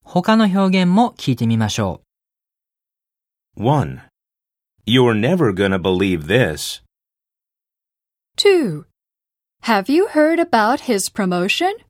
他の表現も聞いてみましょう。1. You're never gonna believe this. 2. Have you heard about his promotion?